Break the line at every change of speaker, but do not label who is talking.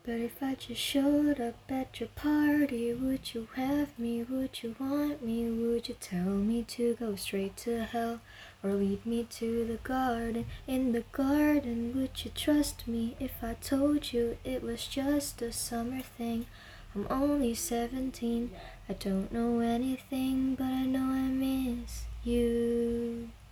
But if I just showed up at your party, would you have me? Would you want me? Would you tell me to go straight to hell? Or lead me to the garden? In the garden, would you trust me if I told you it was just a summer thing? I'm only 17, I don't know anything, but I know I miss you.